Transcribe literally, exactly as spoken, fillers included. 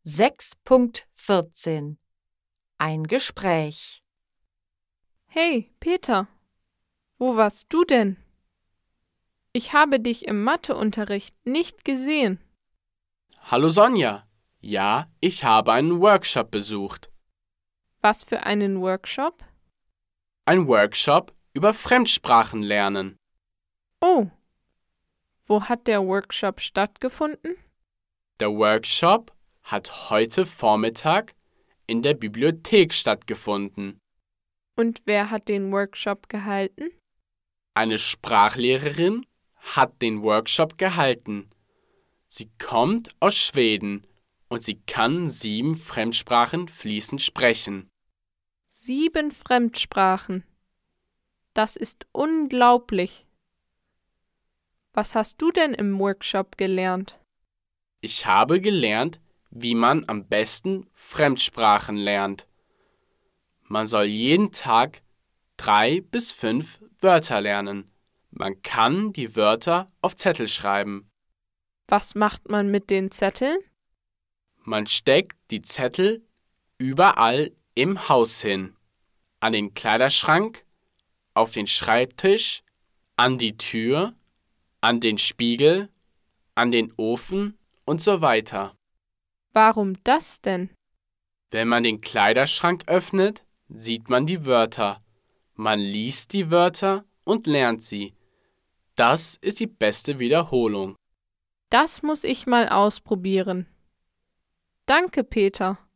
sechs Punkt vierzehn Ein Gespräch. Hey, Peter, wo warst du denn? Ich habe dich im Matheunterricht nicht gesehen. Hallo Sonja. Ja, ich habe einen Workshop besucht. Was für einen Workshop? Ein Workshop über Fremdsprachen lernen. Oh, wo hat der Workshop stattgefunden? Der Workshop hat heute Vormittag in der Bibliothek stattgefunden. Und wer hat den Workshop gehalten? Eine Sprachlehrerin hat den Workshop gehalten. Sie kommt aus Schweden und sie kann sieben Fremdsprachen fließend sprechen. Sieben Fremdsprachen. Das ist unglaublich. Was hast du denn im Workshop gelernt? Ich habe gelernt, wie man am besten Fremdsprachen lernt. Man soll jeden Tag drei bis fünf Wörter lernen. Man kann die Wörter auf Zettel schreiben. Was macht man mit den Zetteln? Man steckt die Zettel überall im Haus hin. An den Kleiderschrank, auf den Schreibtisch, an die Tür, an den Spiegel, an den Ofen und so weiter. Warum das denn? Wenn man den Kleiderschrank öffnet, sieht man die Wörter. Man liest die Wörter und lernt sie. Das ist die beste Wiederholung. Das muss ich mal ausprobieren. Danke, Peter.